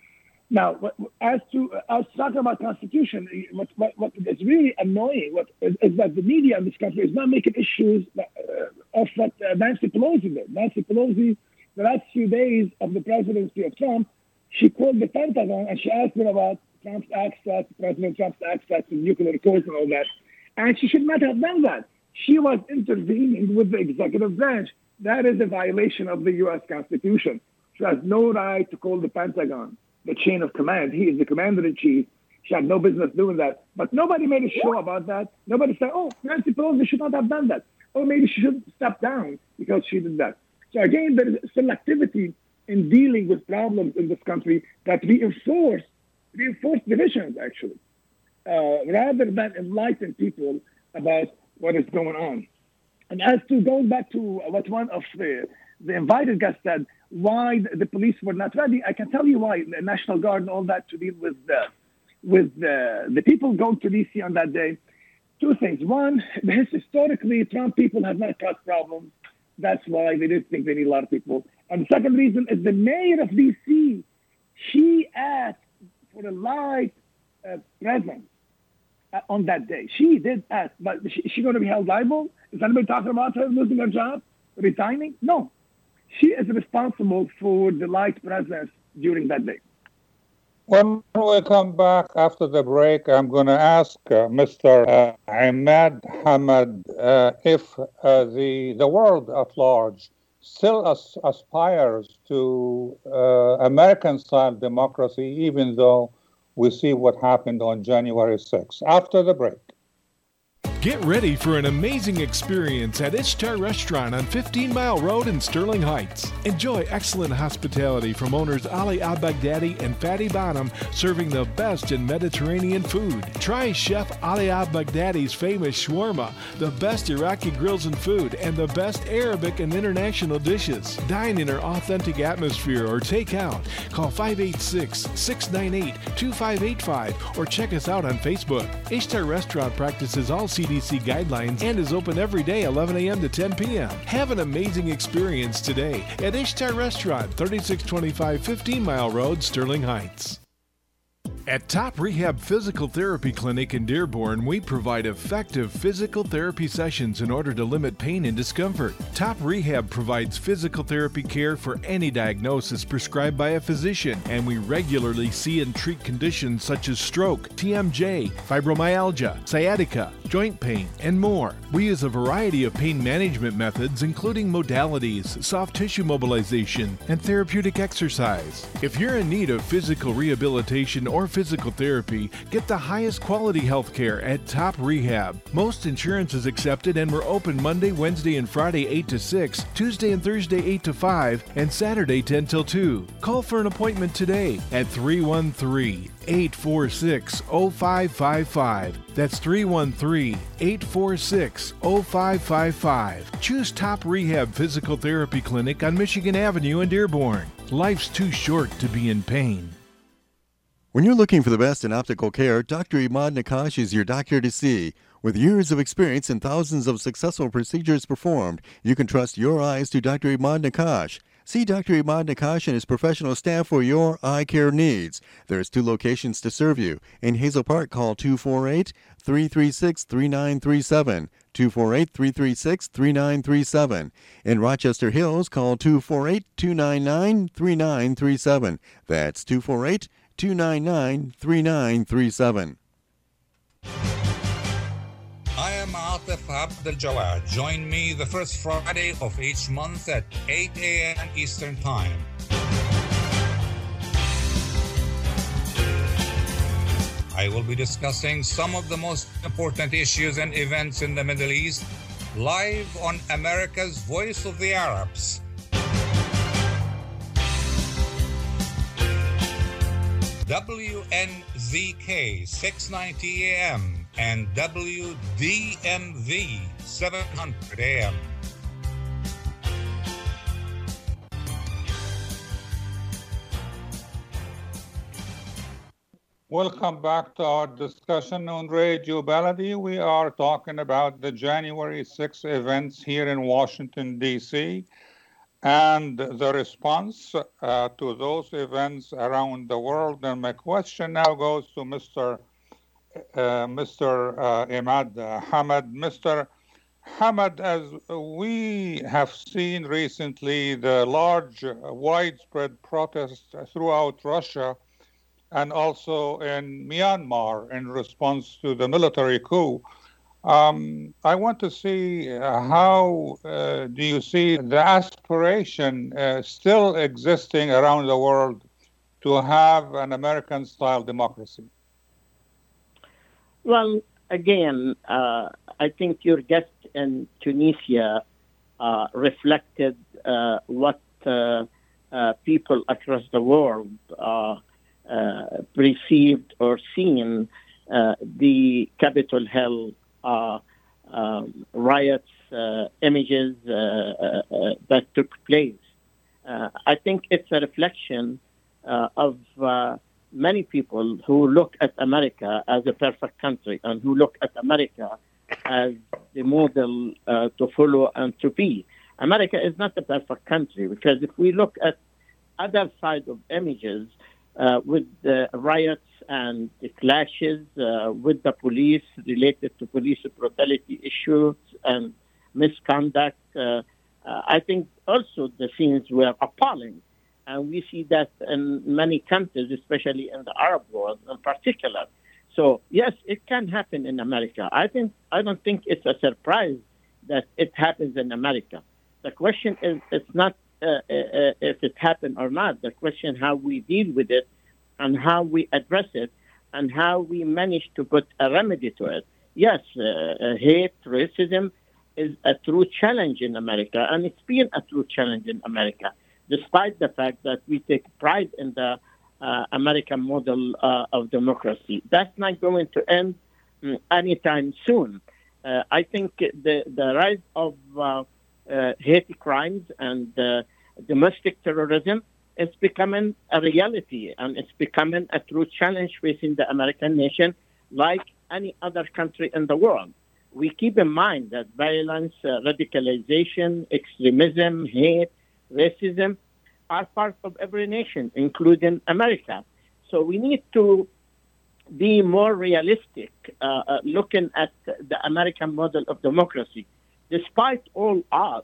Now, as to us talking about Constitution, what, what, what is really annoying what, is, is that the media in this country is not making issues uh, of what uh, Nancy Pelosi did. Nancy Pelosi, the last few days of the presidency of Trump, she called the Pentagon and she asked them about Trump's access, President Trump's access to nuclear codes and all that. And she should not have done that. She was intervening with the executive branch. That is a violation of the U S Constitution. She has no right to call the Pentagon the chain of command. He is the commander-in-chief. She had no business doing that. But nobody made a show about that. Nobody said, oh, Nancy Pelosi should not have done that. Or maybe she should step down because she did that. So again, there is selectivity in dealing with problems in this country that reinforce, reinforce divisions, actually, uh, rather than enlighten people about what is going on. And as to going back to what one of the, the invited guests said, why the police were not ready, I can tell you why. The National Guard and all that to deal with the, with the, the people going to D C on that day. Two things. One, historically, Trump people have not caused problems. That's why they didn't think they need a lot of people. And the second reason is the mayor of D C, she asked for a live uh, presence uh, on that day. She did ask, but is she, she going to be held liable? Is anybody talking about her losing her job, resigning? No. She is responsible for the light presence during that day. When we come back after the break, I'm going to ask uh, Mister Uh, Ahmad Hamad uh, if uh, the the world at large still as, aspires to uh, American-style democracy, even though we see what happened on January sixth. After the break. Get ready for an amazing experience at Ishtar Restaurant on fifteen mile Road in Sterling Heights. Enjoy excellent hospitality from owners Ali Al-Baghdadi and Fatty Bonham, serving the best in Mediterranean food. Try Chef Ali Al-Baghdadi's famous shawarma, the best Iraqi grills and food, and the best Arabic and international dishes. Dine in our authentic atmosphere or take out. Call five eight six, six nine eight, two five eight five or check us out on Facebook. Ishtar Restaurant practices all C D C guidelines and is open every day eleven a.m. to ten p.m. Have an amazing experience today at Ishtar Restaurant, thirty-six twenty-five fifteen mile Road, Sterling Heights. At Top Rehab Physical Therapy Clinic in Dearborn, we provide effective physical therapy sessions in order to limit pain and discomfort. Top Rehab provides physical therapy care for any diagnosis prescribed by a physician, and we regularly see and treat conditions such as stroke, T M J, fibromyalgia, sciatica, joint pain, and more. We use a variety of pain management methods, including modalities, soft tissue mobilization, and therapeutic exercise. If you're in need of physical rehabilitation or physical therapy, get the highest quality health care at Top Rehab. Most insurance is accepted, and we're open Monday, Wednesday, and Friday eight to six, Tuesday and Thursday eight to five, and Saturday ten till two. Call for an appointment today at three one three, eight four six, zero five five five. That's three one three, eight four six, zero five five five. Choose Top Rehab Physical Therapy Clinic on Michigan Avenue in Dearborn. Life's too short to be in pain. When you're looking for the best in optical care, Doctor Imad Nakash is your doctor to see. With years of experience and thousands of successful procedures performed, you can trust your eyes to Doctor Imad Nakash. See Doctor Imad Nakash and his professional staff for your eye care needs. There's two locations to serve you. In Hazel Park, call two four eight, three three six, three nine three seven, two four eight, three three six, three nine three seven. In Rochester Hills, call two four eight, two nine nine, three nine three seven. That's two four eight, two nine nine, three nine three seven. I am Atif Abdel Jawad. Join me the first Friday of each month at eight a.m. Eastern Time. I will be discussing some of the most important issues and events in the Middle East live on America's Voice of the Arabs. W N Z K six ninety A M and W D M V seven hundred A M. Welcome back to our discussion on Radio Baladi. We are talking about the January sixth events here in Washington, D C, and the response uh, to those events around the world. And my question now goes to Mister Uh, Mister Uh, Imad Hamad. Mister Hamad, as we have seen recently, the large, uh, widespread protests throughout Russia and also in Myanmar in response to the military coup. Um, I want to see uh, how uh, do you see the aspiration uh, still existing around the world to have an American-style democracy? Well, again, uh, I think your guest in Tunisia uh, reflected uh, what uh, uh, people across the world uh, uh, perceived or seen uh, the Capitol Hill uh, um, riots, uh, images uh, uh, that took place. Uh, I think it's a reflection uh, of uh, many people who look at America as a perfect country and who look at America as the model uh, to follow and to be. America is not a perfect country, because if we look at other side of images uh, with the riots and the clashes uh, with the police related to police brutality issues and misconduct, uh, uh, I think also the scenes were appalling. And we see that in many countries, especially in the Arab world in particular. So, yes, it can happen in America. I think I don't think it's a surprise that it happens in America. The question is, it's not uh, uh, if it happened or not. The question how we deal with it and how we address it and how we manage to put a remedy to it. Yes, uh, hate, racism is a true challenge in America, and it's been a true challenge in America, despite the fact that we take pride in the uh, American model uh, of democracy. That's not going to end um, anytime soon. Uh, I think the, the rise of uh, uh, hate crimes and uh, domestic terrorism is becoming a reality, and it's becoming a true challenge facing the American nation like any other country in the world. We keep in mind that violence, uh, radicalization, extremism, hate, racism are part of every nation, including America. So we need to be more realistic, uh, uh, looking at the American model of democracy. Despite all odds,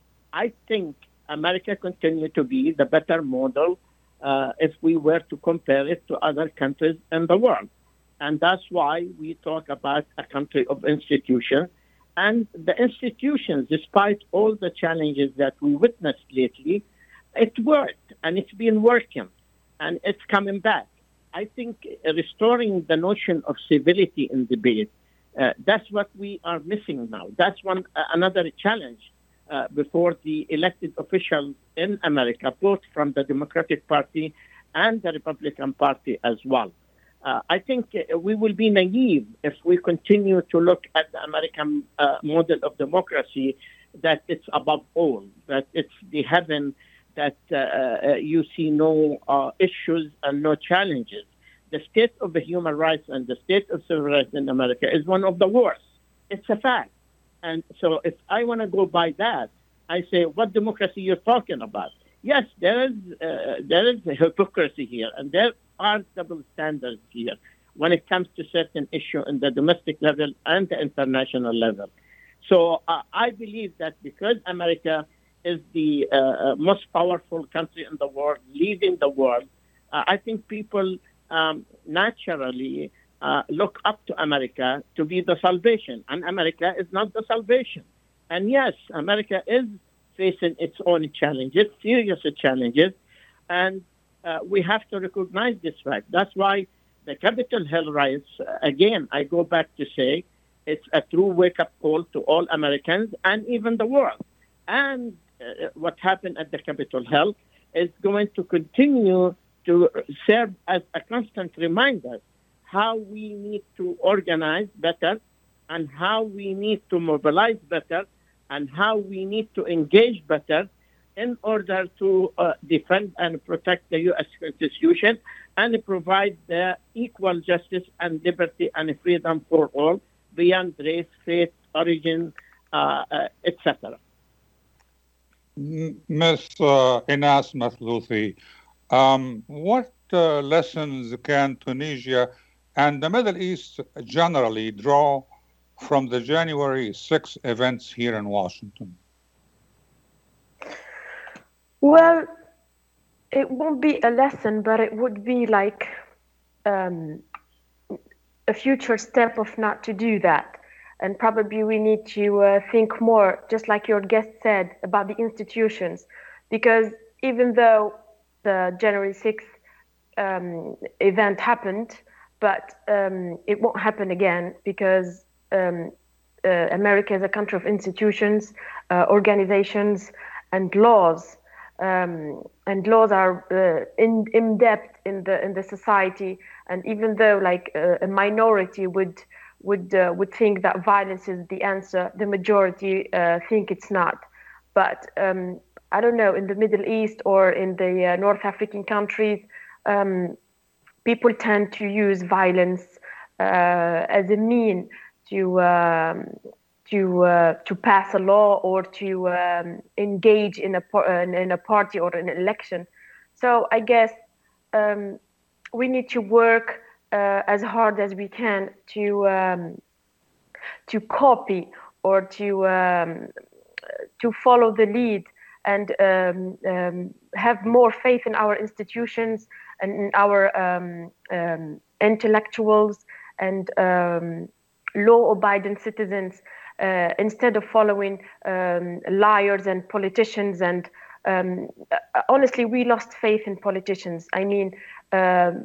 I think America continues to be the better model uh, if we were to compare it to other countries in the world. And that's why we talk about a country of institutions. And the institutions, despite all the challenges that we witnessed lately, it worked and it's been working and it's coming back. I think restoring the notion of civility in debate, uh, that's what we are missing now. That's one uh, another challenge uh, before the elected officials in America, both from the Democratic Party and the Republican Party as well. Uh, I think uh, we will be naive if we continue to look at the American uh, model of democracy, that it's above all, that it's the heaven, that uh, uh, you see no uh, issues and no challenges. The state of the human rights and the state of civil rights in America is one of the worst. It's a fact. And so if I want to go by that, I say, what democracy you're talking about? Yes, there is uh, there is a hypocrisy here, and there are double standards here when it comes to certain issues in the domestic level and the international level. So uh, I believe that because America is the uh, most powerful country in the world, leading the world, uh, I think people um, naturally uh, look up to America to be the salvation, and America is not the salvation. And yes, America is facing its own challenges, serious challenges, and uh, we have to recognize this fact. That's why the Capitol Hill riots, uh, again, I go back to say, it's a true wake-up call to all Americans and even the world. And uh, what happened at the Capitol Hill is going to continue to serve as a constant reminder how we need to organize better and how we need to mobilize better and how we need to engage better in order to uh, defend and protect the U S Constitution and provide the equal justice and liberty and freedom for all beyond race, faith, origin, uh, uh, et cetera. Miz Uh, Inas Mathlouthi, um, what uh, lessons can Tunisia and the Middle East generally draw from the January sixth events here in Washington? Well, it won't be a lesson, but it would be like um, a future step of not to do that. And probably we need to uh, think more, just like your guest said, about the institutions. Because even though the January sixth um, event happened, but um, it won't happen again because um, uh, America is a country of institutions, uh, organizations, and laws. Um, and laws are uh, in, in depth in the in the society. And even though like uh, a minority would would uh, would think that violence is the answer, the majority uh, think it's not. But um, I don't know, in the Middle East or in the uh, North African countries, um, people tend to use violence uh, as a mean to um, to uh, to pass a law or to um, engage in a in a party or an election. So I guess um, we need to work uh, as hard as we can to um, to copy or to um, to follow the lead and um, um, have more faith in our institutions and in our um, um, intellectuals and um, law-abiding citizens uh, instead of following um, liars and politicians. And um, honestly, we lost faith in politicians. I mean, um,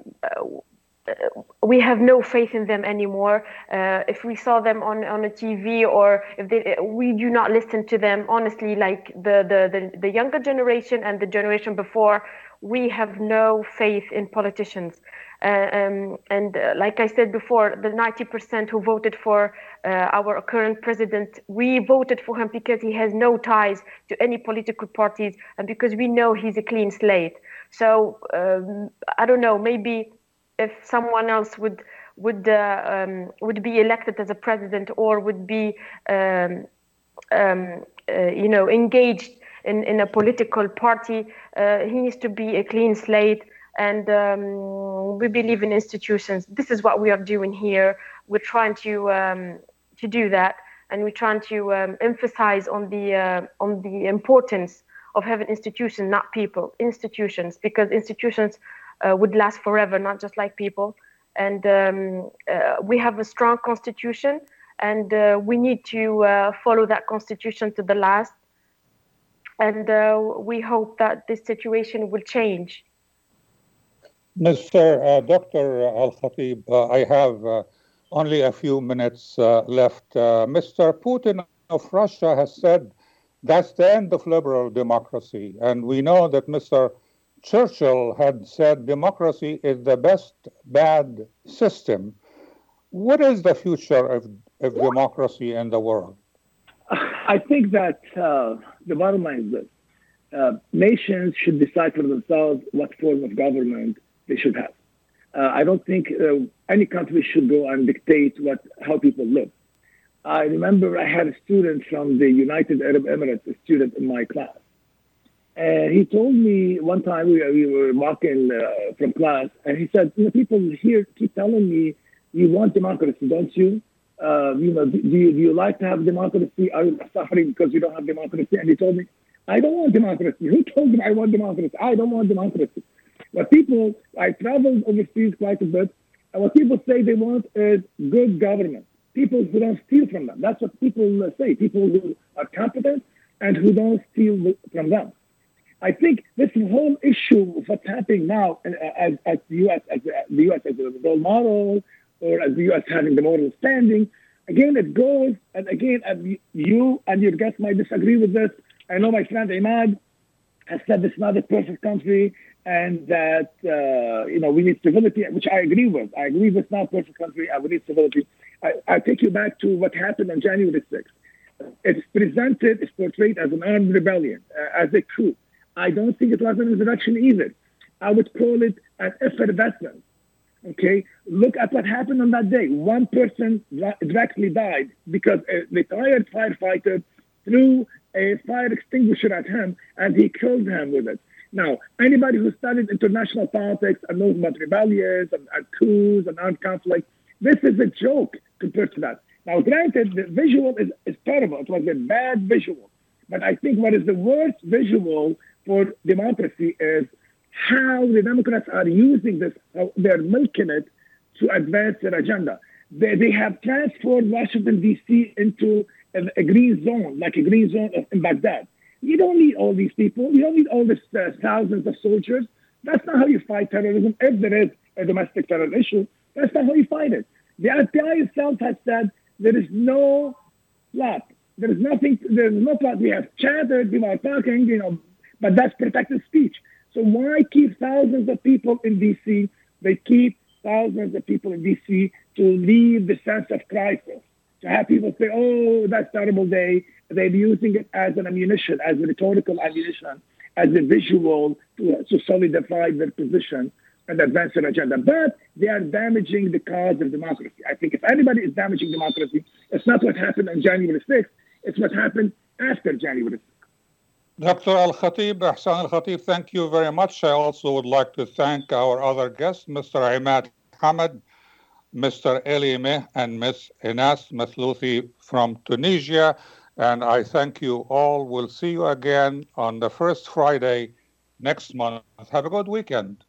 we have no faith in them anymore. Uh, if we saw them on, on a T V or if they, we do not listen to them, honestly, like the, the, the, the younger generation and the generation before, we have no faith in politicians. Uh, um, and uh, like I said before, the ninety percent who voted for uh, our current president, we voted for him because he has no ties to any political parties and because we know he's a clean slate. So um, I don't know, maybe if someone else would would uh, um, would be elected as a president or would be um, um, uh, you know engaged in, in a political party, uh, he needs to be a clean slate And um, we believe in institutions. This is what we are doing here. We're trying to um, to do that, and we're trying to um, emphasize on the uh, on the importance of having institutions, not people. Institutions, because institutions uh, would last forever, not just like people. And um, uh, we have a strong constitution, and uh, we need to uh, follow that constitution to the last. And uh, we hope that this situation will change. Mister Uh, Doctor Al-Khatib, uh, I have uh, only a few minutes uh, left. Uh, Mister Putin of Russia has said that's the end of liberal democracy. And we know that Mister Churchill had said democracy is the best bad system. What is the future of, of democracy in the world? I think that uh, the bottom line is this. Uh, nations should decide for themselves what form of government they should have. Uh, I don't think uh, any country should go and dictate what how people live. I remember I had a student from the United Arab Emirates, a student in my class. And he told me one time we, we were walking uh, from class, and he said, you know, people here keep telling me, you want democracy, don't you? Uh, you know, do you, do you like to have democracy? Are you suffering because you don't have democracy? And he told me, I don't want democracy. Who told me I want democracy? I don't want democracy. What people, I traveled overseas quite a bit, and what people say they want is good government. People who don't steal from them. That's what people say. People who are competent and who don't steal from them. I think this whole issue of what's happening now as, as the U S as the U S as a role model, or as the U S having the moral standing, again it goes, and again you and your guests might disagree with this. I know my friend Imad has said this is not a perfect country, and that uh, you know we need civility, which I agree with. I agree with not a perfect country, and we need civility. I, I take you back to what happened on January sixth. It's presented, it's portrayed as an armed rebellion, uh, as a coup. I don't think it was an insurrection either. I would call it an effervescence. Okay, look at what happened on that day. One person directly died because a retired firefighter threw a fire extinguisher at him, and he killed him with it. Now, anybody who studied international politics and knows about rebellions and, and coups and armed conflict, this is a joke compared to that. Now, granted, the visual is, is terrible. It was a bad visual. But I think what is the worst visual for democracy is how the Democrats are using this, how they're milking it to advance their agenda. They, they have transformed Washington, D C into a, a green zone, like a green zone in Baghdad. You don't need all these people. You don't need all these uh, thousands of soldiers. That's not how you fight terrorism. If there is a domestic terror issue, that's not how you fight it. The F B I itself has said there is no plot. There is nothing, there is no plot. We have chatted, people are talking, you know, but that's protected speech. So why keep thousands of people in D C? They keep thousands of people in D C to leave the sense of crisis, to have people say, oh, that's a terrible day. They're using it as an ammunition, as a rhetorical ammunition, as a visual to, to solidify their position and advance their agenda. But they are damaging the cause of democracy. I think if anybody is damaging democracy, it's not what happened on January sixth, it's what happened after January sixth. Doctor Al-Khatib, Ahsan Al-Khatib, thank you very much. I also would like to thank our other guests, Mister Imad Hamad, Mister Eli Meh, and Miss Inas Mathlouthi from Tunisia. And I thank you all. We'll see you again on the first Friday next month. Have a good weekend.